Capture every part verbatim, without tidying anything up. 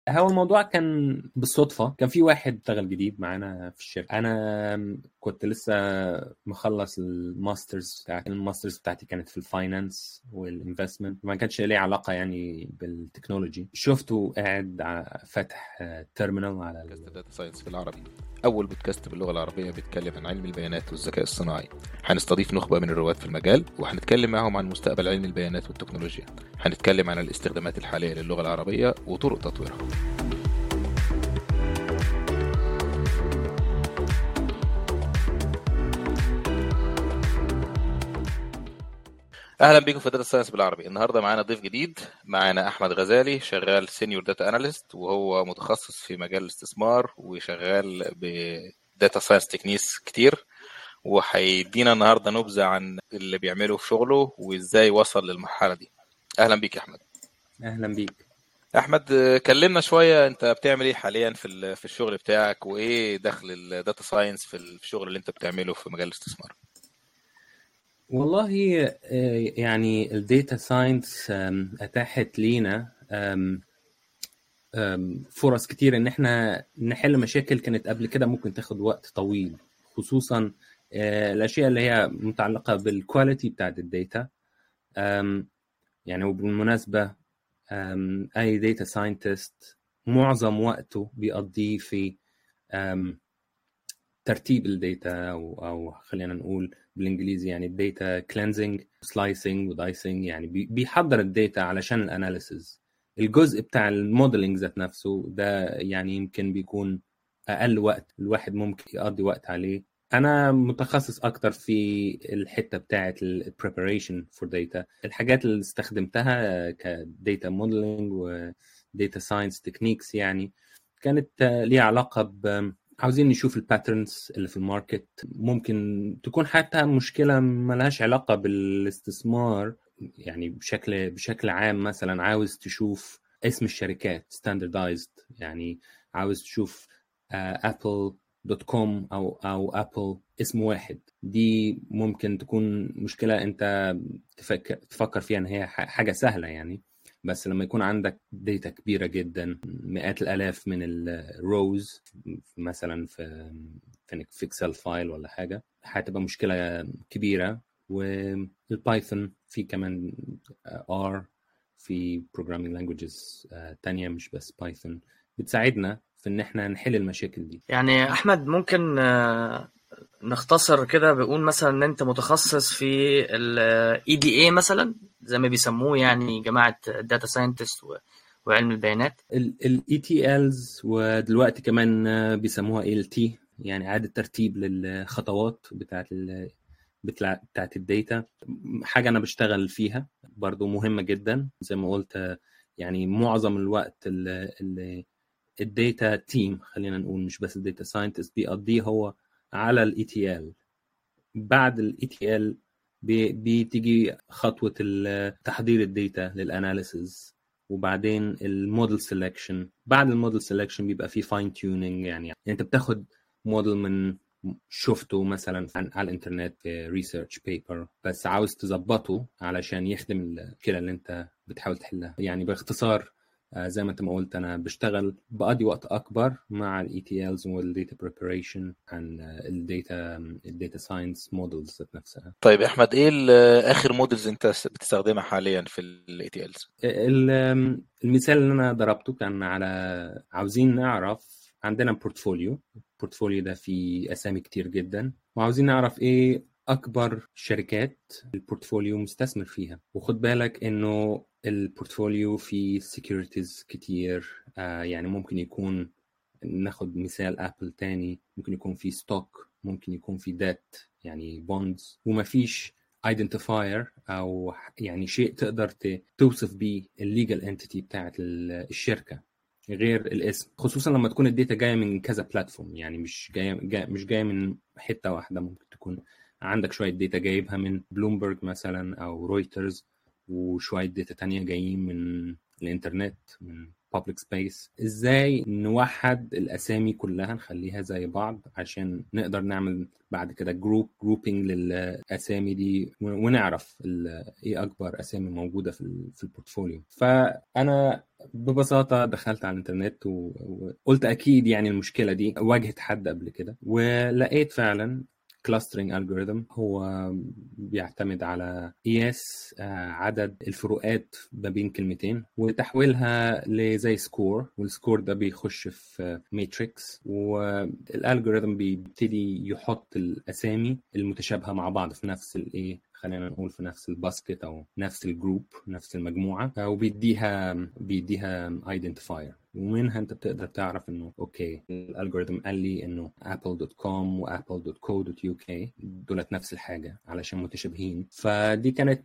هو الموضوع كان بالصدفة، كان في واحد اشتغل جديد معانا في الشركة. أنا كنت لسه مخلص الماسترز بتاعتي الماسترز بتاعتي كانت في الفاينانس والانفستمنت، ما كانش ليه علاقة يعني بالتكنولوجي. شفته قاعد ع- فاتح تيرمينال على بودكاست داتا ساينس بالعربي، أول بودكاست باللغة العربية بيتكلم عن علم البيانات والذكاء الصناعي. هنستضيف نخبة من الرواد في المجال وهنتكلم معهم عن مستقبل علم البيانات والتكنولوجيا. هنتكلم عن الاستخدامات الحالية للغة العربية وطرق تطويرها. اهلا بيكم في داتا ساينس بالعربي. النهارده معانا ضيف جديد، معانا احمد غزالي، شغال سينيور داتا اناليست، وهو متخصص في مجال الاستثمار وشغال بداتا ساينس تكنيس كتير، وهيدينا النهارده نبذه عن اللي بيعمله في شغله وازاي وصل للمرحله دي. اهلا بيك يا احمد. أهلا بيك. احمد، كلمنا شويه، انت بتعمل ايه حاليا في في الشغل بتاعك، وايه دخل الداتا ساينس في الشغل اللي انت بتعمله في مجال الاستثمار؟ والله آه، يعني الديتا ساينس أتاحت لينا آم، آم، فرص كتير إن إحنا نحل مشاكل كانت قبل كده ممكن تاخد وقت طويل، خصوصا آه، الأشياء اللي هي متعلقة بالكواليتي بتاعت الداتا. أم، يعني وبالمناسبة أم، أي داتا ساينتست معظم وقته بيقضيه في أم، ترتيب الداتا، أو, أو خلينا نقول بالإنجليزي يعني الداتا كلينزنج سلايسنج ودايسنج، يعني بي- بيحضر الداتا علشان الأناليسز. الجزء بتاع الموديلنج ذات نفسه ده يعني يمكن بيكون أقل وقت الواحد ممكن يقضي وقت عليه. أنا متخصص أكتر في الحتة بتاعة ال preparation for data. الحاجات اللي استخدمتها كداتا موديلنج و data science techniques يعني كانت آه، ليها علاقة ب عاوزين نشوف الباترنز اللي في الماركت. ممكن تكون حتى مشكلة ملهاش علاقة بالاستثمار، يعني بشكل بشكل عام. مثلا عاوز تشوف اسم الشركات standardized، يعني عاوز تشوف ابل دوت كوم او او ابل اسم واحد. دي ممكن تكون مشكلة انت تفكر تفكر فيها ان هي ح- حاجة سهلة يعني، بس لما يكون عندك داتا كبيرة جدا، مئات الآلاف من الروز مثلا في في في اكسل فايل ولا حاجة، هتبقى مشكلة كبيرة. والبايثون في كمان ار، في programming languages آه، تانية مش بس بايثون، بتساعدنا في ان احنا نحل المشاكل دي. يعني احمد ممكن آه، نختصر كده بيقول مثلا ان انت متخصص في ال إي دي إيه مثلا زي ما بيسموه يعني جماعة الداتا ساينتست وعلم البيانات. ال إي تي إلز ودلوقتي كمان آه، بيسموها إل تي، يعني إعادة ترتيب للخطوات بتاعت ال بتاع- بتاعت الداتا. حاجة أنا بشتغل فيها برضو مهمة جدا زي ما قلت. آه، يعني معظم الوقت اللي الداتا تيم، خلينا نقول مش بس الداتا ساينتست، بيقضيه هو على الاي تي ال. بعد الاي تي ال بتيجي خطوة ال- تحضير الداتا للاناليسز، وبعدين الموديل سيلكشن. بعد الموديل سيلكشن بيبقى فيه فاين تيونينج، يعني يعني انت بتاخد موديل من شفته مثلا عن- على الانترنت في ريسيرش بيبر، بس عاوز تظبطه علشان يخدم المشكلة اللي انت بتحاول تحلها. يعني باختصار آه، زي ما انت ما قلت، انا بشتغل بقضي وقت اكبر مع الاي تي إلز والداتا بريباريشن عن الداتا الداتا ساينس مودلز ذات نفسها. طيب يا احمد، ايه ال- اخر مودلز انت بتستخدمها حاليا في الاي تي إلز؟ ال- المثال اللي انا ضربته كان على عاوزين نعرف عندنا بورتفوليو. البورتفوليو ده فيه اسامي كتير جدا، وعاوزين نعرف ايه اكبر شركات البورتفوليو مستثمر فيها. وخد بالك انه البورتفوليو فيه سيكوريتيز كتير. آه يعني ممكن يكون، ناخد مثال ابل تاني، ممكن يكون في ستوك، ممكن يكون في ديت يعني بوندز، ومفيش ايدنتيفاير او يعني شيء تقدر ت- توصف بيه الليجل انتيتي بتاعت الشركه غير الاسم، خصوصا لما تكون الداتا جايه من كذا بلاتفورم. يعني مش جايه جاي مش جايه من حته واحده، ممكن تكون عندك شويه داتا جايبها من بلومبرج مثلا او رويترز، وشويه داتا تانية جايين من الانترنت من public space، ازاي نوحد الاسامي كلها نخليها زي بعض عشان نقدر نعمل بعد كده جروب جروبينج للاسامي دي ونعرف ايه اكبر اسامي موجوده في في البورتفوليو. فانا ببساطه دخلت على الانترنت وقلت اكيد يعني المشكله دي واجهت حد قبل كده، ولقيت فعلا clustering algorithm هو بيعتمد على قياس عدد الفروقات ما بين كلمتين وتحويلها لزي سكور، والسكور ده بيخش في ماتريكس، والالجوريثم بيبتدي يحط الاسامي المتشابهه مع بعض في نفس الايه، خلينا نقول في نفس الباسكت او نفس الجروب نفس المجموعه، وبيديها بيديها ايدنتيفاير، ومنها انت بتقدر تعرف انه اوكي الالجوريثم قال لي انه ابل دوت كوم وابل دوت كو دوت يو كي دولت نفس الحاجه علشان متشابهين. فدي كانت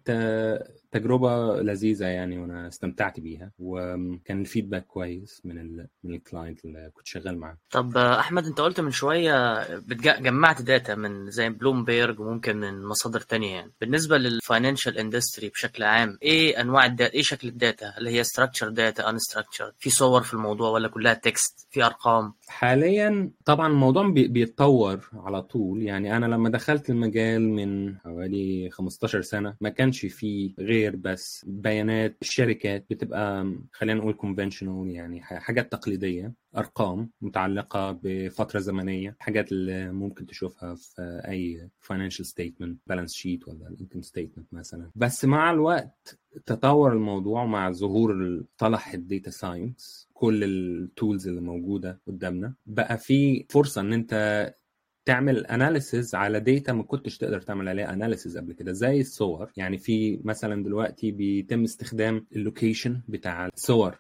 تجربه لذيذه يعني، وانا استمتعت بيها، وكان الفيدباك كويس من ال من الكلاينت اللي كنت شغال معاه. طب احمد، انت قلت من شويه جمعت داتا من زي بلومبيرج وممكن من مصادر تانية، يعني بالنسبه للفاينانشال اندستري بشكل عام ايه انواع الداتا، ايه شكل الداتا؟ هل هي structured داتا unstructured، في صور في الموضوع ولا كلها تكست، في ارقام؟ حاليا طبعا الموضوع بيتطور على طول، يعني انا لما دخلت المجال من حوالي خمستاشر سنه ما كانش فيه غير بس بيانات الشركات بتبقى خلينا نقول conventional، يعني حاجات تقليديه، ارقام متعلقه بفتره زمنيه، حاجات اللي ممكن تشوفها في اي financial statement balance sheet ولا income statement مثلا. بس مع الوقت تطور الموضوع مع ظهور مصطلح الداتا ساينس، كل التولز اللي موجوده قدامنا بقى في فرصه ان انت تعمل اناليسز على داتا ما كنتش تقدر تعمل عليها اناليسز قبل كده، زي الصور. يعني في مثلا دلوقتي بيتم استخدام اللوكيشن بتاع الصور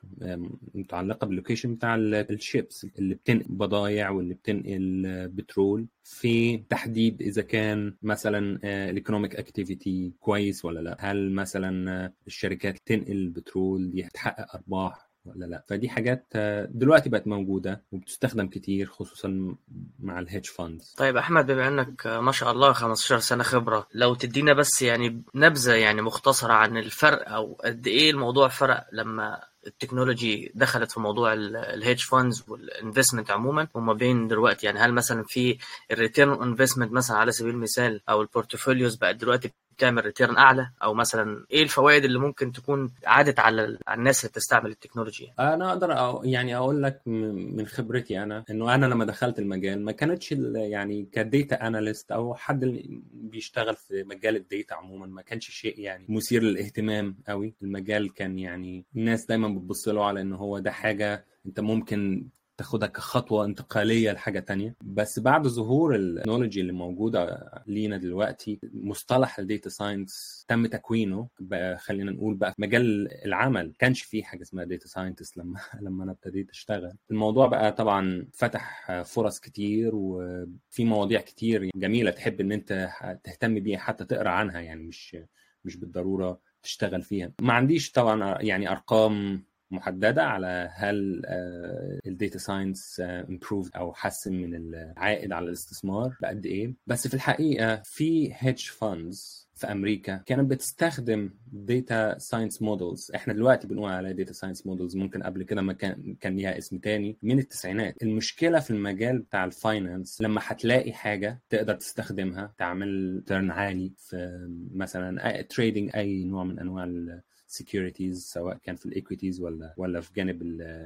متعلقه باللوكيشن بتاع الشيبس اللي بتنقل بضائع واللي بتنقل بترول، في تحديد اذا كان مثلا الايكونوميك اكتيفيتي كويس ولا لا، هل مثلا الشركات تنقل البترول دي هتحقق ارباح ولا لا. فدي حاجات دلوقتي بقت موجودة وبتستخدم كتير خصوصا مع الهيدج فاندز. طيب أحمد، بما أنك ما شاء الله خمستاشر سنة خبرة، لو تدينا بس يعني نبذة يعني مختصرة عن الفرق أو قد إيه الموضوع فرق لما التكنولوجي دخلت في موضوع الهيدج فاندز والانفستمنت عموما وما بين دلوقتي، يعني هل مثلا في الريتيرن انفستمنت مثلا على سبيل المثال او البورتفوليوز بقت دلوقتي بتعمل ريتيرن اعلى، او مثلا ايه الفوائد اللي ممكن تكون عادت على الناس اللي بتستعمل التكنولوجيا؟ انا اقدر أو يعني اقول لك من خبرتي انا انه انا لما دخلت المجال ما كانتش يعني كديتا اناليست او حد اللي بيشتغل في مجال الديتا عموما ما كانش شيء يعني مثير للاهتمام قوي. المجال كان يعني الناس دايما بتبص له على انه هو ده حاجه انت ممكن تاخدها كخطوة انتقالية لحاجة تانية. بس بعد ظهور التكنولوجي اللي موجودة لينا دلوقتي، مصطلح الديتا ساينس تم تكوينه بقى، خلينا نقول بقى في مجال العمل. كانش فيه حاجة اسمها ديتا ساينتست لما لما انا ابتديت اشتغل. الموضوع بقى طبعا فتح فرص كتير، وفي مواضيع كتير جميلة تحب ان انت تهتم بيها حتى تقرأ عنها، يعني مش مش بالضرورة تشتغل فيها. ما عنديش طبعا يعني ارقام محددة على هل الديتا ساينس امبروف او حسن من العائد على الاستثمار بقد ايه، بس في الحقيقة في هيدج فاندز في امريكا كانت بتستخدم داتا ساينس مودلز. احنا دلوقتي بنقول عليها داتا ساينس مودلز، ممكن قبل كده ما كان كان ليها اسم تاني من التسعينات. المشكلة في المجال بتاع الفاينانس لما هتلاقي حاجة تقدر تستخدمها تعمل ترن عالي في مثلا تريدنج اي نوع من انواع securities، سواء كان في الايكويتيز ولا ولا في جانب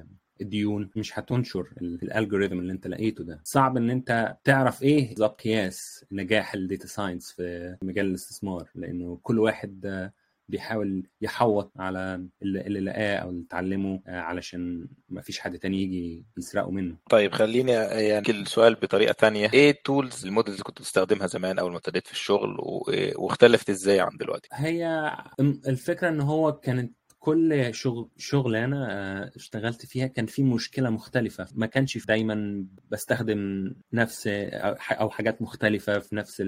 الديون، مش هتنشر الالجوريثم اللي انت لقيته ده. صعب ان انت تعرف ايه بالظبط قياس نجاح الداتا ساينس في مجال الاستثمار، لانه كل واحد بيحاول يحوط على اللي لقاه او اللي اتعلمه علشان ما فيش حد تاني يجي يسرقه منه. طيب خليني يعني السؤال بطريقة تانية، ايه التولز المودلز اللي كنت بتستخدمها زمان اول ما ابتديت في الشغل واختلفت ازاي عن دلوقتي؟ هي الفكرة ان هو كانت كل شغل شغلانه اشتغلت فيها كان في مشكله مختلفه، ما كانش دايما بستخدم نفس او حاجات مختلفه في نفس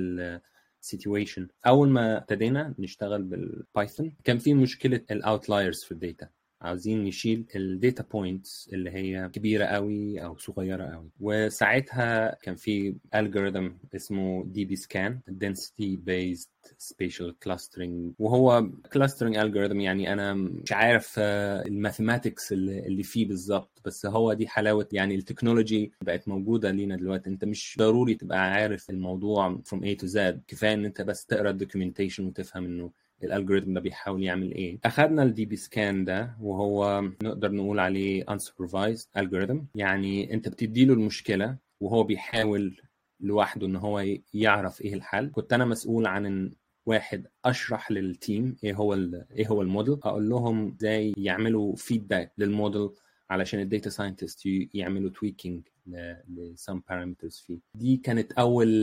السيتويشن. اول ما ابتدينا نشتغل بالبايثون كان في مشكله الاوتلايرز في الداتا، عاوزين نشيل الداتا بوينتس اللي هي كبيره قوي او صغيره قوي. وساعتها كان في algorithm اسمه دي بي سكان density based spatial clustering، وهو clustering algorithm. يعني انا مش عارف الماثيماتكس اللي فيه بالظبط، بس هو دي حلاوه يعني التكنولوجي بقت موجوده لينا دلوقتي. انت مش ضروري تبقى عارف الموضوع from A to Z، كفايه ان انت بس تقرا الدوكيومنتيشن وتفهم انه الالجوريثم ده بيحاول يعمل ايه. اخذنا الدي بي سكان ده وهو نقدر نقول عليه unsupervised algorithm، يعني انت بتدي له المشكله وهو بيحاول لوحده ان هو يعرف ايه الحل. كنت انا مسؤول عن ان واحد اشرح للتيم ايه هو ايه هو الموديل، اقول لهم ازاي يعملوا فيدباك للموديل علشان الداتا ساينتست يعملوا تويكينج لسام بارامترز فيه. دي كانت اول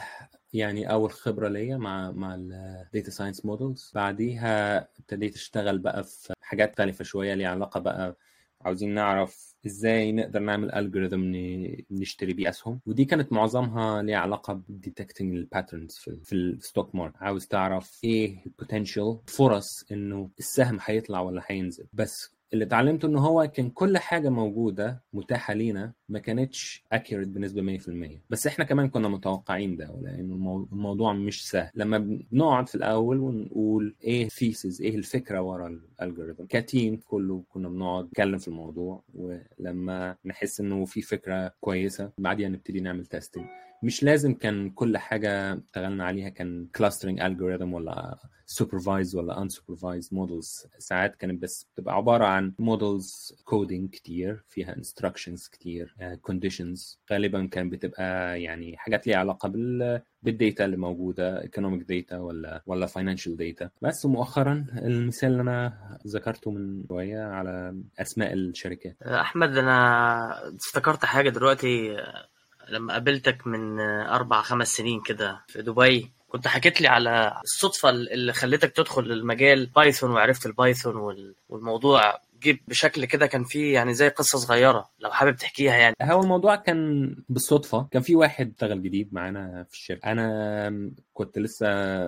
يعني اول خبره ليا مع مع الداتا ساينس مودلز. بعديها ابتديت اشتغل بقى في حاجات مختلفه شويه ليها علاقه بقى عاوزين نعرف ازاي نقدر نعمل الجوريثم نشتري بيه اسهم، ودي كانت معظمها ليها علاقه بديتكتنج الباترنز في في الستوك ماركت. عاوز تعرف ايه البوتنشال فرص انه السهم هيطلع ولا هينزل. بس اللي اتعلمته ان هو كان كل حاجه موجوده متاحه لينا ما كانتش accurate بنسبه مية في المية، بس احنا كمان كنا متوقعين ده، لانه الموضوع مش سهل. لما بنقعد في الاول ونقول ايه thesis، ايه الفكره ورا الالجوريثم، كتيم كله كنا بنقعد نتكلم في الموضوع، ولما نحس انه في فكره كويسه بعدين نبتدي نعمل تيستنج. مش لازم كان كل حاجه اشتغلنا عليها كان clustering algorithm ولا supervised ولا unsupervised models. ساعات كانت بس بتبقى عباره عن models coding كتير فيها instructions كتير، uh, conditions. غالبا كان بتبقى يعني حاجات ليها علاقه بال بالديتا اللي موجوده، economic data ولا ولا financial data. بس مؤخرا المثال اللي انا ذكرته من شويه على اسماء الشركات. احمد، انا افتكرت حاجه دلوقتي. لما قابلتك من اربع خمس سنين كده في دبي، كنت حكيت لي على الصدفه اللي خلتك تدخل المجال بايثون، وعرفت البايثون والموضوع جيب بشكل كده كان فيه يعني زي قصه صغيره لو حابب تحكيها. يعني هو الموضوع كان بالصدفه، كان في واحد اشتغل جديد معانا في الشركه. انا كنت لسه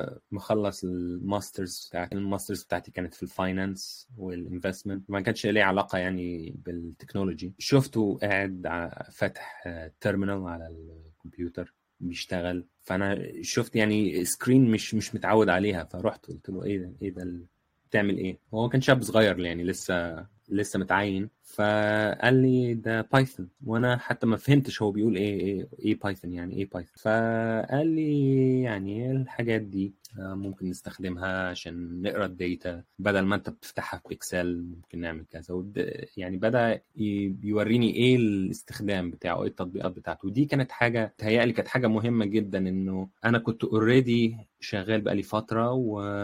مخلص الماسترز بتاعتي الماسترز بتاعتي كانت في الفاينانس والانفستمنت، ما كانش ليه علاقه يعني بالتكنولوجي. شفته قاعد فاتح تيرمينال على الكمبيوتر بيشتغل، فانا شفت يعني سكرين مش مش متعود عليها، فرحت قلت له ايه ده ايه ده بتعمل ايه؟ هو كان شاب صغير يعني لسه لسه متعين، فقال لي ده بايثون، وانا حتى ما فهمتش هو بيقول ايه ايه ايه بايثون، يعني ايه بايثون. فقال لي يعني الحاجات دي ممكن نستخدمها عشان نقرا الداتا بدل ما انت بتفتحها في اكسل، ممكن نعمل كذا. يعني بدا يوريني ايه الاستخدام بتاعه، ايه التطبيقات بتاعته. ودي كانت حاجه تهيألي كانت حاجه مهمه جدا، انه انا كنت اوريدي شغال بقالي فتره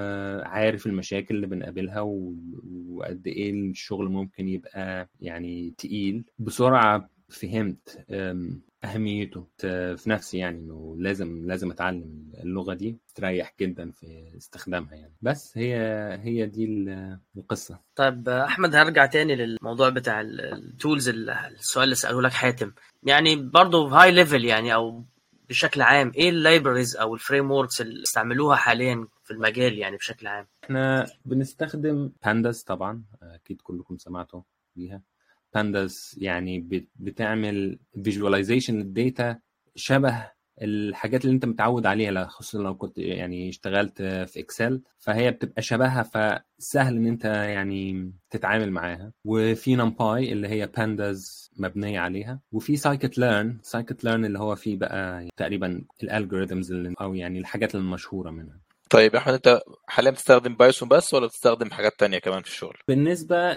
وعارف المشاكل اللي بنقابلها وقد ايه الشغل ممكن يبقى يعني تقيل. بسرعه فهمت أهميته في نفسي، يعني إنه لازم لازم أتعلم اللغة دي، تريح جدا في استخدامها يعني. بس هي هي دي القصة. طيب أحمد، هرجع تاني للموضوع بتاع التولز. السؤال اللي سأله لك حاتم يعني برضو هاي ليفل، يعني أو بشكل عام ايه اللايبريز او الفريم وركس اللي استعملوها حاليا في المجال يعني بشكل عام؟ احنا بنستخدم بانداز طبعا، اكيد كلكم سمعتوا بيها. بانداز يعني بتعمل فيجواليزيشن للداتا شبه الحاجات اللي انت متعود عليها، خصوصا لو كنت يعني اشتغلت في اكسل، فهي بتبقى شبهها، فسهل ان انت يعني تتعامل معاها. وفي نمباي اللي هي بانداز مبنيه عليها، وفي سايكت ليرن سايكت ليرن اللي هو فيه بقى تقريبا الالجوريثمز او يعني الحاجات المشهوره منها. طيب احمد، انت حاليا بتستخدم بايثون بس ولا بتستخدم حاجات تانية كمان في الشغل؟ بالنسبه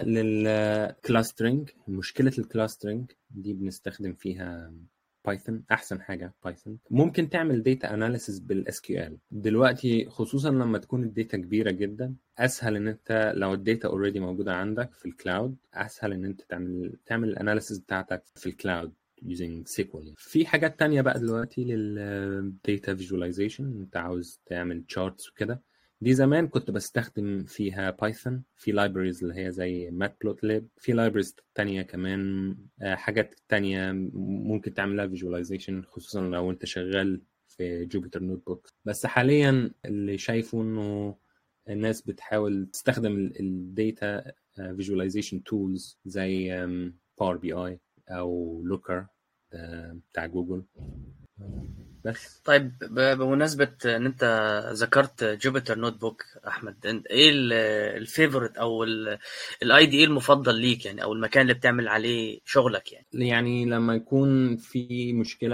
للكلاسترنج، مشكله الكلاسترنج دي بنستخدم فيها بايثون. احسن حاجه بايثون. ممكن تعمل داتا اناليسيس بالاس كيو ال دلوقتي، خصوصا لما تكون الداتا كبيره جدا. اسهل ان انت لو الداتا اوريدي موجوده عندك في الكلاود، اسهل ان انت تعمل تعمل الاناليسيس بتاعتك في الكلاود using سيكوال. في حاجات تانية بقى دلوقتي للداتا فيجواليزيشن، انت عاوز تعمل تشارتس وكده. دي زمان كنت بستخدم فيها بايثون، في لايبريز اللي هي زي ماتبلوتليب، في لايبريز تانية كمان، حاجات تانية ممكن تعملها فيجواليزيشن، خصوصا لو انت شغال في جوبيتر نوت بوك. بس حاليا اللي شايفه انه الناس بتحاول تستخدم الداتا فيجواليزيشن تولز زي باور بي اي او لوكر بتاع جوجل بس. طيب ب- بمناسبة ان انت ذكرت جوبيتر نوت بوك احمد، انت ايه الفيفورت او الاي دي اي المفضل ليك يعني، او المكان اللي بتعمل عليه شغلك يعني؟ يعني لما يكون في مشكلة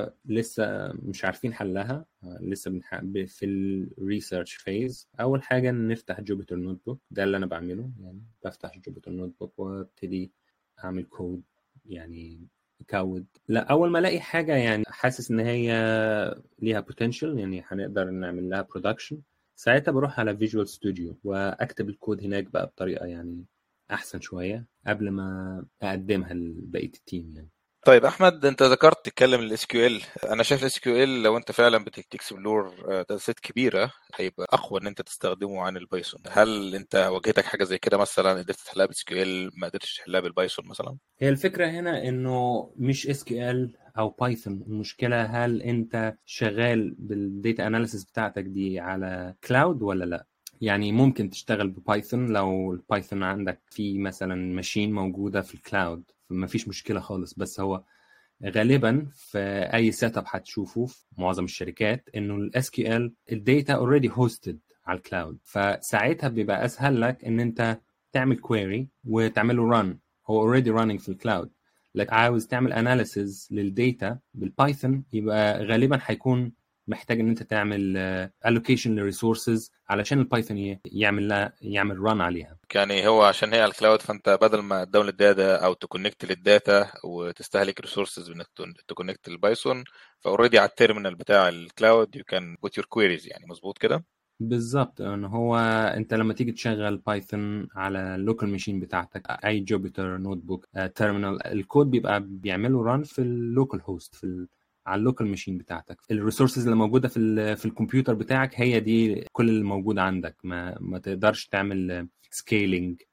لسه مش عارفين حلها، لسه بنح... ب- في الريسيرش فيز، أول حاجة نفتح جوبيتر نوت بوك. ده اللي أنا بعمله، يعني بفتح جوبيتر نوت بوك وابتدي أعمل كود، يعني كود. لا، أول ما ألاقي حاجة يعني حاسس إن هي ليها potential، يعني هنقدر نعمل لها production، ساعتها بروح على فيجوال ستوديو وأكتب الكود هناك بقى بطريقة يعني أحسن شوية قبل ما اقدمها لبقيه التيم يعني. طيب احمد، انت ذكرت تتكلم الاس كيو ال. انا شايف الاس كيو ال لو انت فعلا بتكسبلور داتا سيت كبيره هيبقى اقوى ان انت تستخدمه عن البايثون. هل انت واجهتك حاجه زي كده مثلا، قدرت تحلها بالاس كيو ال ما قدرتش تحلها بالبايثون مثلا؟ هي الفكره هنا انه مش اس كيو ال او بايثون، المشكله هل انت شغال بالديتا اناليسيس بتاعتك دي على كلاود ولا لا. يعني ممكن تشتغل ببايثون لو البايثون عندك في مثلا ماشين موجوده في الكلاود، ما فيش مشكله خالص. بس هو غالبا في اي سيت اب هتشوفه في معظم الشركات انه الاس كيو ال الداتا اوريدي هوستد على الكلاود، فساعتها بيبقى اسهل لك ان انت تعمل كويري وتعمله ران، هو اوريدي راننج في الكلاود. لك عاوز تعمل اناليسز للداتا بالبايثون، يبقى غالبا هيكون محتاج ان انت تعمل الوكيشن للريسورسز علشان البايثون يعمل لها يعمل ران عليها. يعني هو عشان هي على الكلاود، فانت بدل ما تداونلود داتا او تكونكت للداتا وتستهلك ريسورسز انك تكونكت للبايثون، فاوريدي على التيرمينال بتاع الكلاود يو كان بوت يور كويريز، يعني مظبوط كده؟ بالظبط. ان هو انت لما تيجي تشغل بايثون على اللوكال ماشين بتاعتك، اي جوبيتر نوت بوك تيرمينال، الكود بيبقى بيعمله ران في اللوكال هوست في ال... على اللوكال ماشين بتاعتك. الريسورسز اللي موجوده في ال... في الكمبيوتر بتاعك هي دي كل اللي موجود عندك. ما ما تقدرش تعمل سكيلينج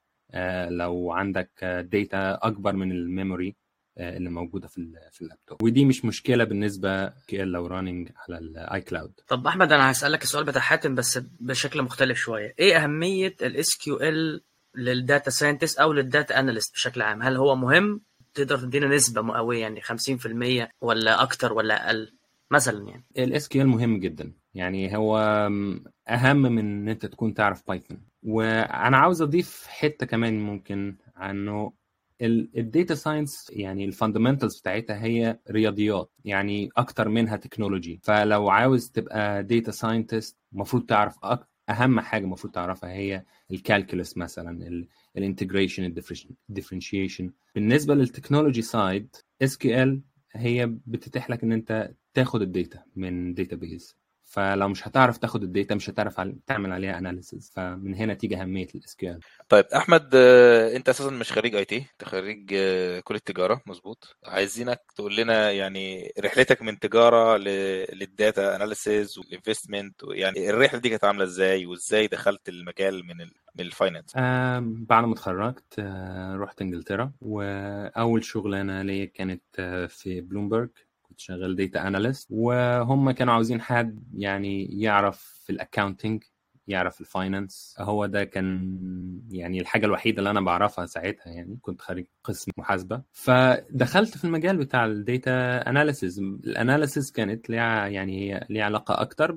لو عندك داتا اكبر من الميموري اللي موجوده في في اللابتوب، ودي مش مشكله بالنسبه لو راننج على الاي كلاود. طب احمد، انا هسألك السؤال بتاع حاتم بس بشكل مختلف شوية. ايه اهمية الاس كيو ال للداتا ساينتست او للداتا اناليست بشكل عام؟ هل هو مهم؟ تقدر تدينا نسبة مئوية يعني خمسين في المية ولا اكتر ولا اقل مثلا يعني؟ الاس كيو ال مهم جدا، يعني هو اهم من ان انت تكون تعرف بايثون. وانا عاوز اضيف حته كمان ممكن عنه، الداتا ساينس يعني الفاندمنتالز بتاعتها هي رياضيات يعني اكتر منها تكنولوجي. فلو عاوز تبقى داتا ساينتست المفروض تعرف أك... اهم حاجه المفروض تعرفها هي الكالكولس مثلا، الانتجريشن، الديفرنشيشن. بالنسبه للتكنولوجي سايد، اس كيو ال هي بتتيح لك ان انت تاخد الداتا من داتابيز، فلو مش هتعرف تاخد الداتا مش هتعرف تعمل عليها اناليسيز، فمن هنا تيجي اهميه الاس كيو ال. طيب احمد، انت اساسا مش خريج اي تي، انت خريج كليه تجاره مظبوط. عايزينك تقول لنا يعني رحلتك من تجاره للداتا اناليسيز والانفستمنت، يعني الرحله دي كانت عامله ازاي، وازاي دخلت المجال من ال من الفاينانس؟ آه بعد ما اتخرجت آه رحت انجلترا، واول شغلانه ليا كانت آه في بلومبرج، كنت شغال داتا اناليست، وهم كانوا عاوزين حد يعني يعرف في الاكاونتنج، يعرف الفاينانس. هو ده كان يعني الحاجه الوحيده اللي انا بعرفها ساعتها، يعني كنت خريج قسم محاسبه. فدخلت في المجال بتاع الداتا اناليسيز. الاناليسيز كانت ليها يعني هي ليها علاقه اكتر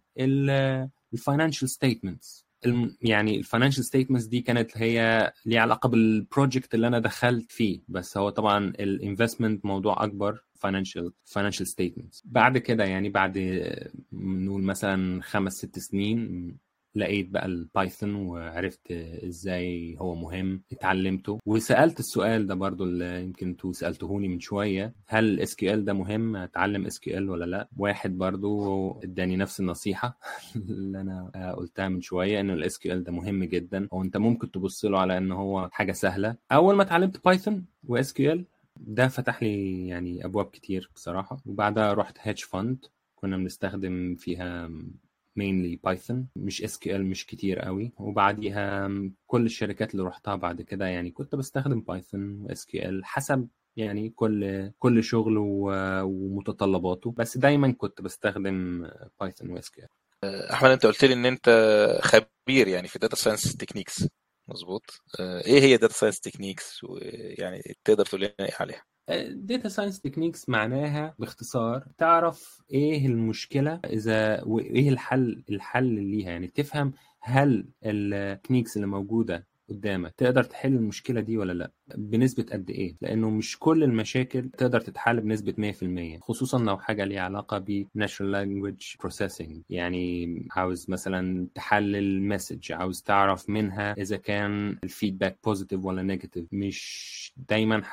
بالفاينانشال ستيتمنتس، يعني الفاينانشال ستيتمنتس دي كانت هي ليها علاقه بالبروجكت اللي انا دخلت فيه، بس هو طبعا الانفستمنت موضوع اكبر، فاينانشال فاينانشال ستيتمنتس. بعد كده يعني بعد نقول مثلا خمس ست سنين لقيت بقى البايثون وعرفت ازاي هو مهم، اتعلمته. وسالت السؤال ده برضو اللي يمكن انتوا سالتهوني من شويه، هل الاس كيو ال ده مهم، اتعلم اس كيو ال ولا لا؟ واحد برضو اداني نفس النصيحه اللي انا قلتها من شويه، انه الاس كيو ال ده مهم جدا، وانت ممكن تبص له على انه هو حاجه سهله. اول ما اتعلمت بايثون واس كيو ال ده فتح لي يعني ابواب كتير بصراحه. وبعدها رحت هيدج فاند كنا بنستخدم فيها mainly بايثون، مش اس كيو ال مش كتير قوي. وبعديها كل الشركات اللي رحتها بعد كده يعني كنت بستخدم بايثون واس كيو ال حسب يعني كل كل شغل ومتطلباته، بس دايما كنت بستخدم بايثون واس كيو ال. احمد، انت قلت لي ان انت خبير يعني في داتا ساينس تكنيكس، مظبوط. ايه هي داتا ساينس تكنيكس، ويعني تقدر تقول لنا ايه عليها؟ داتا ساينس تكنيكس معناها باختصار تعرف ايه المشكله اذا وايه الحل الحل ليها، يعني تفهم هل التكنيكس اللي موجوده قدامك تقدر تحل المشكله دي ولا لا، بنسبه قد ايه، لانه مش كل المشاكل تقدر تتحل بنسبه مية في المية، خصوصا لو حاجه ليها علاقه ب natural language processing. يعني عاوز مثلا تحلل مسج، عاوز تعرف منها اذا كان الفيدباك بوزيتيف ولا نيجاتيف، مش دايما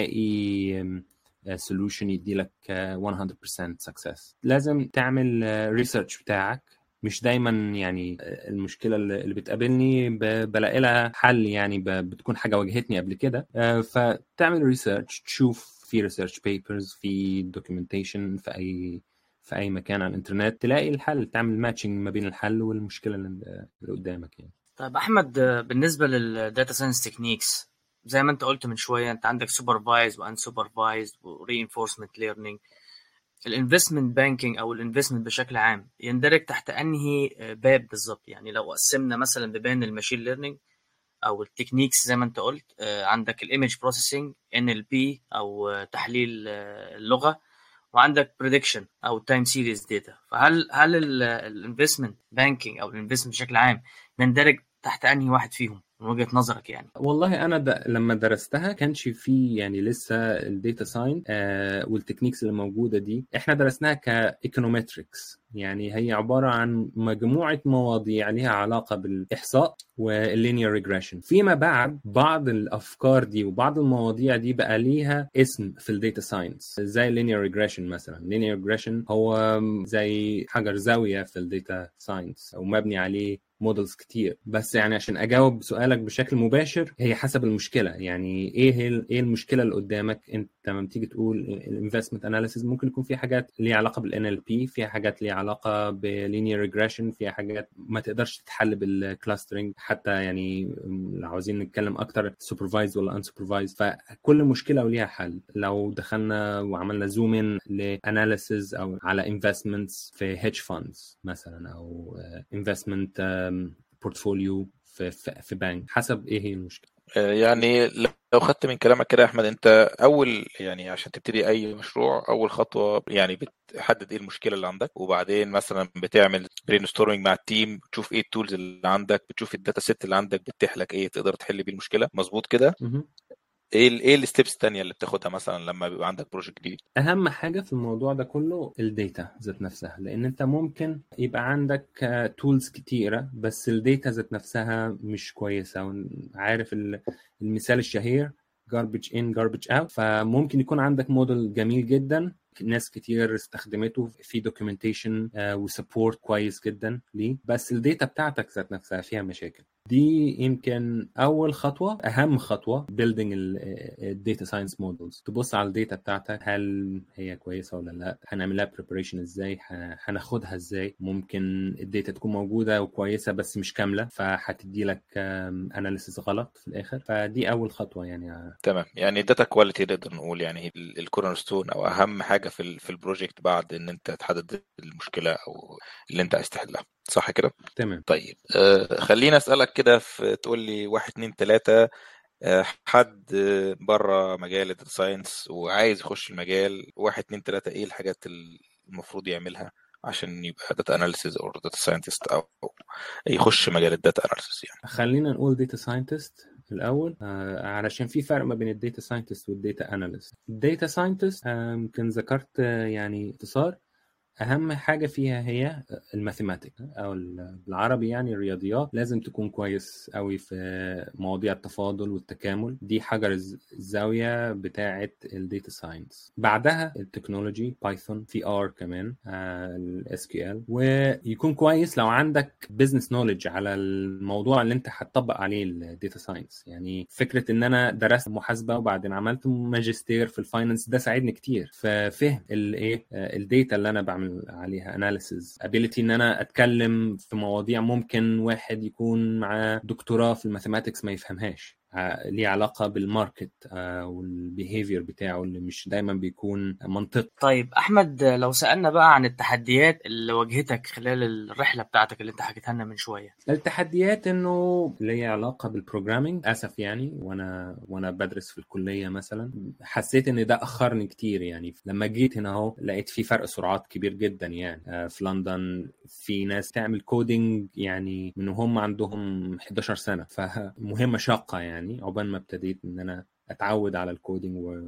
هتلاقي solution يديلك مية بالمية success. لازم تعمل ريسيرش بتاعك، مش دايما يعني المشكله اللي بتقابلني بلاقي لها حل، يعني بتكون حاجه واجهتني قبل كده، فتعمل ريسيرش، تشوف في ريسيرش بيبرز، في دوكيومنتيشن في اي في اي مكان على الانترنت، تلاقي الحل، تعمل ماتشنج ما بين الحل والمشكله اللي قدامك يعني. طيب احمد، بالنسبه للداتا ساينس تكنيكس زي ما انت قلت من شويه، انت عندك سوبرفايز وان سوبرفايز ورينفورسمنت ليرنينج. الانفستمنت بانكينج او الانفستمنت بشكل عام يندرج تحت انهي باب بالظبط؟ يعني لو قسمنا مثلا ببين الماشين ليرنينج او التكنيكس زي ما انت قلت، عندك الايمج بروسيسنج ان ال بي او تحليل اللغه، وعندك بريدكشن او تايم سيريز داتا، فهل هل الانفستمنت بانكينج او الانفستمنت بشكل عام يندرج تحت انهي واحد فيهم من وجهة نظرك يعني؟ والله انا د... لما درستها كانش في يعني لسه الداتا ساينس آه والتكنيكس اللي موجوده دي، احنا درسناها كايكونومتريكس، يعني هي عباره عن مجموعه مواضيع ليها علاقه بالاحصاء واللينير ريجريشن. فيما بعد بعض الافكار دي وبعض المواضيع دي بقى ليها اسم في الداتا ساينس، زي اللينير ريجريشن مثلا. اللينير ريجريشن هو زي حجر زاويه في الداتا ساينس او مبني عليه مودلز كتير. بس يعني عشان اجاوب سؤالك بشكل مباشر، هي حسب المشكله، يعني ايه ايه المشكله اللي قدامك. انت لما تيجي تقول الانفستمنت اناليسيز ممكن يكون في حاجات ليها علاقه بالان ال بي، فيها حاجات ليها علاقه باللينير ريجريشن، فيها حاجات ما تقدرش تتحل بالكلاسترنج حتى، يعني لو عاوزين نتكلم اكتر سوبرفايز ولا ان سوبرفايز، فكل مشكله وليها حل. لو دخلنا وعملنا زوم ان لاناليسيز او على انفستمنتس في هيدج فاندز مثلا، او انفستمنت بورتفوليو في في بنك، حسب ايه هي المشكله. يعني لو خدت من كلامك كده يا احمد، انت اول يعني عشان تبتدي اي مشروع، اول خطوه يعني بتحدد ايه المشكله اللي عندك، وبعدين مثلا بتعمل برين ستورمنج مع التيم، بتشوف ايه التولز اللي عندك، بتشوف الداتا سيت اللي عندك بتتيح لك ايه تقدر تحل بيه المشكله. مظبوط كده؟ ايه ال ايه الستبس الثانيه اللي بتاخدها مثلا لما بيبقى عندك بروجكت جديد؟ اهم حاجه في الموضوع ده كله الداتا ذات نفسها، لان انت ممكن يبقى عندك تولز كتيره بس الداتا ذات نفسها مش كويسه. عارف المثال الشهير garbage in garbage out؟ فممكن يكون عندك موديل جميل جدا، ناس كتير استخدمته، في دوكيومنتيشن وسبورت كويس جدا ليه، بس الداتا بتاعتك ذات نفسها فيها مشاكل. دي يمكن اول خطوه، اهم خطوه building الداتا ساينس مودلز. تبص على الداتا بتاعتك، هل هي كويسه ولا لا، هنعملها بريبريشن ازاي، هناخدها ازاي. ممكن الداتا تكون موجوده وكويسه بس مش كامله، فهتدي لك اناليسيس غلط في الاخر. فدي اول خطوه يعني. تمام، يعني الداتا كواليتي نقدر نقول يعني الكورنر ستون او اهم حاجه في في البروجكت بعد ان انت تحدد المشكله او اللي انت عايز تحلها، صح كده؟ تمام. طيب آه خلينا اسالك كده، تقول لي واحد اتنين تلاته، آه حد بره مجال الداتا ساينس وعايز يخش المجال، واحد اتنين تلاته ايه الحاجات المفروض يعملها عشان يبقى داتا اناليسيز او داتا ساينتست او يخش مجال الداتا اناليسيز يعني؟ خلينا نقول داتا ساينتست الاول، آه علشان في فرق ما بين الداتا ساينتست والداتا اناليست. الداتا ساينتست يمكن ذكرت آه يعني اختصار، اهم حاجه فيها هي الماثيماتيك او بالعربي يعني الرياضيات. لازم تكون كويس قوي في مواضيع التفاضل والتكامل، دي حجر الزاويه بتاعه الداتا ساينس. بعدها التكنولوجي، بايثون، في ار كمان، الاس كيو ال. ويكون كويس لو عندك بزنس نوليدج على الموضوع اللي انت هتطبق عليه الداتا ساينس. يعني فكره ان انا درست محاسبه وبعدين عملت ماجستير في الفاينانس، ده ساعدني كتير في فهم الايه الداتا اللي انا بعمل عليها اناليسز. ابيليتي ان انا اتكلم في مواضيع ممكن واحد يكون معاه دكتوراه في الماثيماتكس ما يفهمهاش، ليه علاقة بالماركت والبيهيفير بتاعه اللي مش دايما بيكون منطقي. طيب أحمد، لو سألنا بقى عن التحديات اللي واجهتك خلال الرحلة بتاعتك اللي انت حكيتها لنا من شوية. التحديات انه ليه علاقة بالبروجرامينج اسف يعني، وانا وانا بدرس في الكلية مثلا حسيت ان ده اخرني كتير يعني. لما جيت هنا اهو لقيت في فرق سرعات كبير جدا يعني. في لندن في ناس تعمل كودينج يعني من هم عندهم إحدى عشرة سنة، فمهمة شاقة يعني عقبال ما ابتديت ان انا اتعود على الكودينج و...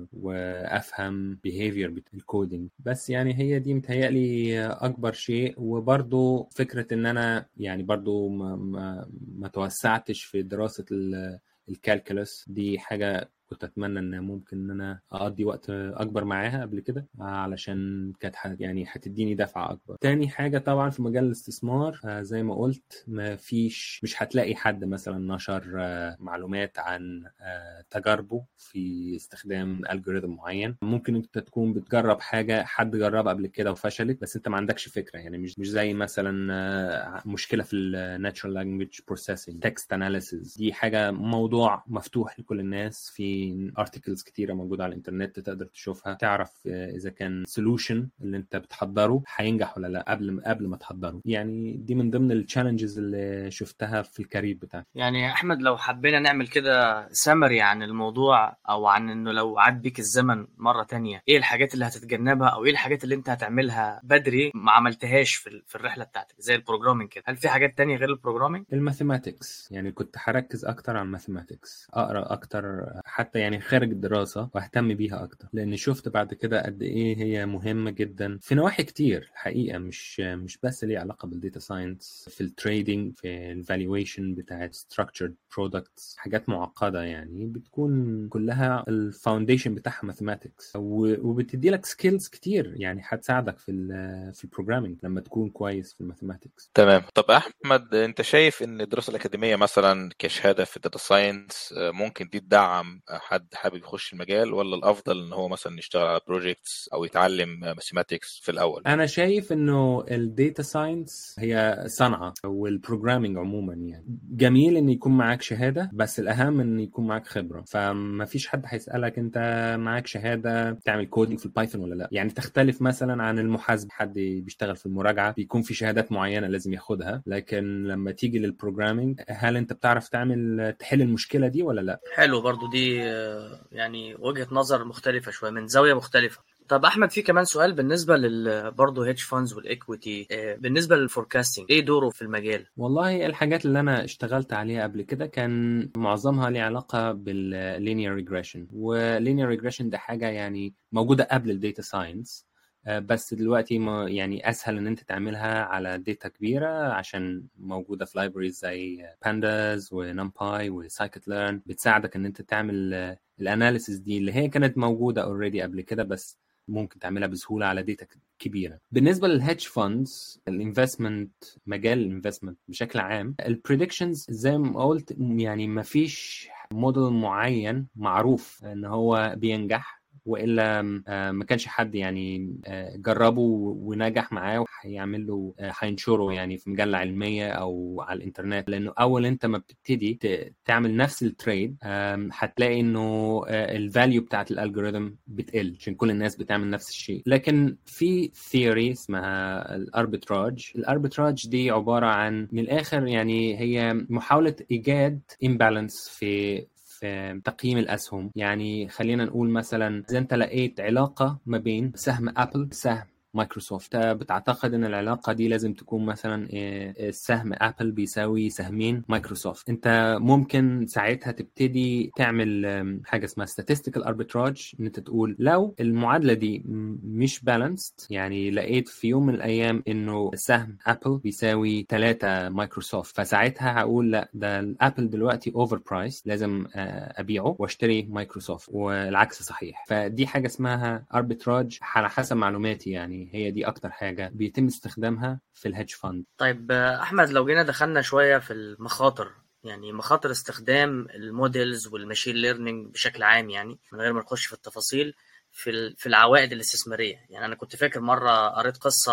وافهم behavior الكودينج. بس يعني هي دي متهيألي اكبر شيء. وبرضو فكرة ان انا يعني برضو ما, ما... ما توسعتش في دراسة ال... الكالكولس. دي حاجة كنت اتمنى ان ممكن ان انا اقضي وقت اكبر معاها قبل كده، علشان كانت يعني هتديني دفعه اكبر. تاني حاجه طبعا في مجال الاستثمار آه زي ما قلت ما فيش مش هتلاقي حد مثلا نشر آه معلومات عن آه تجاربه في استخدام الجوريثم معين. ممكن انت تكون بتجرب حاجه حد جربها قبل كده وفشلت، بس انت ما عندكش فكره يعني. مش مش زي مثلا آه مشكله في الناتشرال لانجويج بروسيسنج، تكست اناليسيز. دي حاجه موضوع مفتوح لكل الناس، في ارتكلز كتيره موجوده على الانترنت تقدر تشوفها تعرف اذا كان سولوشن اللي انت بتحضره هينجح ولا لا قبل قبل ما تحضره. يعني دي من ضمن التشالنجز اللي شفتها في الكارير بتاعي. يعني يا احمد، لو حبينا نعمل كده سمري عن الموضوع، او عن انه لو عاد بيك الزمن مره تانية، ايه الحاجات اللي هتتجنبها او ايه الحاجات اللي انت هتعملها بدري ما عملتهاش في في الرحله بتاعتك زي البروجرامينج كده؟ هل في حاجات تانية غير البروجرامينج؟ الماثيماتكس يعني كنت هركز اكتر على الماثيماتكس، اقرا اكتر حتى يعني خارج الدراسة واهتم بيها اكتر، لان شفت بعد كده قد ايه هي مهمة جدا في نواحي كتير الحقيقة. مش مش بس ليه علاقة بالديتا ساينس، في التريدينج، في الفالويشن بتاعت structured products، حاجات معقدة يعني بتكون كلها الفاونديشن بتاعها ماثيماتكس، وبتدي لك سكيلز كتير يعني هتساعدك في ال في البروجرامينج لما تكون كويس في الماثيماتكس. تمام. طب احمد، انت شايف ان الدراسة الأكاديمية مثلا كشهادة في الداتا ساينس ممكن دي تدعم حد حابب يخش المجال، ولا الافضل ان هو مثلا يشتغل على بروجيكتس او يتعلم ماثيماتكس في الاول؟ انا شايف انه الداتا ساينس هي صنعه، والبروجرامينج عموما يعني جميل ان يكون معاك شهاده، بس الاهم ان يكون معاك خبره. فما فيش حد هيسالك انت معاك شهاده تعمل كودينج في البايثون ولا لا. يعني تختلف مثلا عن المحاسب، حد بيشتغل في المراجعه بيكون في شهادات معينه لازم ياخدها، لكن لما تيجي للبروجرامينج هل انت بتعرف تعمل تحل المشكله دي ولا لا؟ حلو، برضو دي يعني وجهة نظر مختلفة شوية من زاوية مختلفة. طب احمد، في كمان سؤال بالنسبه لل برضه هيدج فاندز والايكويتي، بالنسبه للفوركاستنج ايه دوره في المجال؟ والله الحاجات اللي انا اشتغلت عليها قبل كده كان معظمها ليه علاقه باللينير ريجريشن. واللينير ريجريشن ده حاجه يعني موجوده قبل الداتا ساينس، بس دلوقتي ما يعني اسهل ان انت تعملها على داتا كبيره عشان موجوده في لايبريز زي بانداز ونمباي وسايكت ليرن، بتساعدك ان انت تعمل الاناليسيس دي اللي هي كانت موجوده اوريدي قبل كده، بس ممكن تعملها بسهوله على داتا كبيره. بالنسبه للهيدج فاندز، الانفستمنت، مجال الانفستمنت بشكل عام، البريدكشنز زي ما قلت يعني ما فيش موديل معين معروف ان هو بينجح، والا ما كانش حد يعني جربه ونجح معاه وهيعمل له هينشره يعني في مجله علميه او على الانترنت. لانه اول انت ما بتبتدي تعمل نفس التريد هتلاقي انه الفاليو بتاعت الالجوريثم بتقل عشان كل الناس بتعمل نفس الشيء. لكن في ثيوري اسمها الاربيتراج. الاربيتراج دي عباره عن من الاخر يعني هي محاوله ايجاد امبالانس في في تقييم الأسهم. يعني خلينا نقول مثلا إذا أنت لقيت علاقة ما بين سهم أبل وسهم مايكروسوفت، بتعتقد ان العلاقه دي لازم تكون مثلا السهم ابل بيساوي سهمين مايكروسوفت. انت ممكن ساعتها تبتدي تعمل حاجه اسمها statistical arbitrage، ان انت تقول لو المعادله دي مش بالانسد، يعني لقيت في يوم من الايام انه سهم ابل بيساوي ثلاثة مايكروسوفت، فساعتها هقول لا ده الابل دلوقتي اوفر برايس لازم ابيعه واشتري مايكروسوفت، والعكس صحيح. فدي حاجه اسمها arbitrage على حسب معلوماتي، يعني هي دي اكتر حاجه بيتم استخدامها في الهيدج فاند. طيب احمد، لو جينا دخلنا شويه في المخاطر، يعني مخاطر استخدام الموديلز والماشين ليرنينج بشكل عام، يعني من غير ما نخش في التفاصيل في في العوائد الاستثماريه. يعني انا كنت فاكر مره قريت قصه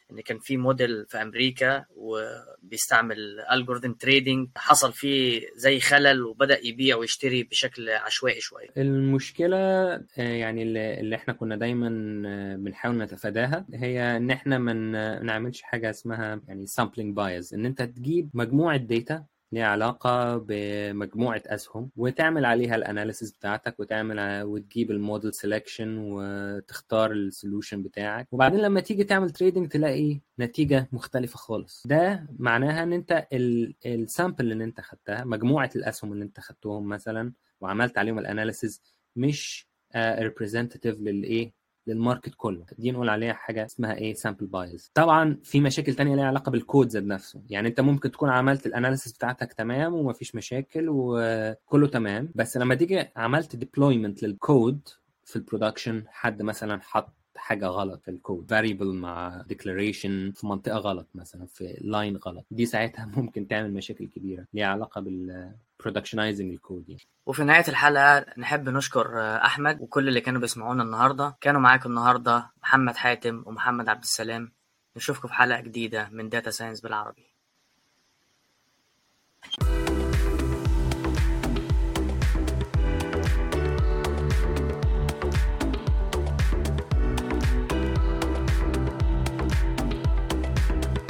ان كان في موديل في امريكا وبيستعمل الجوريثم تريدينج، حصل فيه زي خلل وبدا يبيع ويشتري بشكل عشوائي شويه. المشكله يعني اللي احنا كنا دايما بنحاول نتفاداها هي ان احنا ما نعملش حاجه اسمها يعني سامبلينج بايز، ان انت تجيب مجموعه داتا ليها علاقة بمجموعة أسهم وتعمل عليها الاناليسيس بتاعتك وتعمل وتجيب الموديل سيلكشن وتختار السولوشن بتاعك، وبعدين لما تيجي تعمل تريدنج تلاقي نتيجة مختلفة خالص. ده معناها ان انت السامبل اللي انت خدتها، مجموعة الأسهم اللي انت خدتهم مثلا وعملت عليهم الاناليسيس، مش ريبريزنتيف للايه للماركت كله. دي نقول عليها حاجه اسمها ايه سامبل بايز. طبعا في مشاكل تانية ليها علاقه بالكود ذات نفسه، يعني انت ممكن تكون عملت الاناليسيس بتاعتك تمام ومفيش مشاكل وكله تمام، بس لما تيجي عملت ديبلويمنت للكود في البرودكشن، حد مثلا حط حاجه غلط في الكود، variable مع declaration في منطقه غلط مثلا، في لاين غلط، دي ساعتها ممكن تعمل مشاكل كبيره ليها علاقه بال productionizing الكود يعني. وفي نهاية الحلقة نحب نشكر أحمد وكل اللي كانوا بيسمعونا النهاردة. كانوا معاكم النهاردة محمد حاتم ومحمد عبد السلام. نشوفكم في حلقة جديدة من داتا ساينس بالعربي.